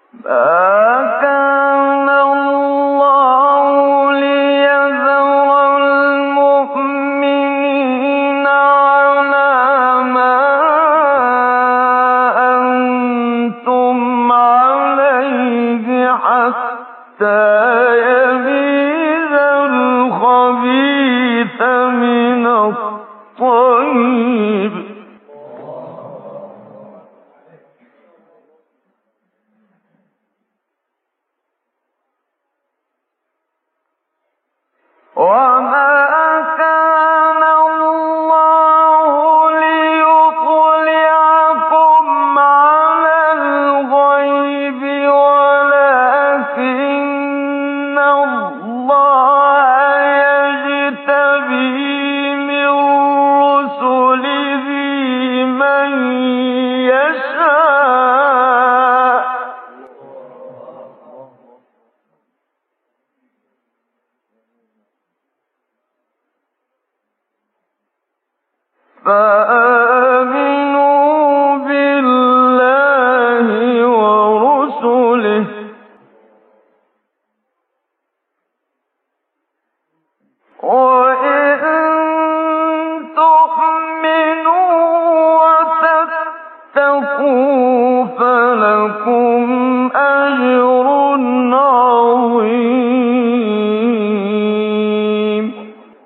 ما كان الله ليذر المؤمنين على ما أنتم عليه حتى يميز الخبيث من الطيب وما كان الله ليطلعكم على الغيب ولكن الله يجتبي من رسله من يشاء فآمنوا بالله ورسله وإن تؤمنوا وتتقوا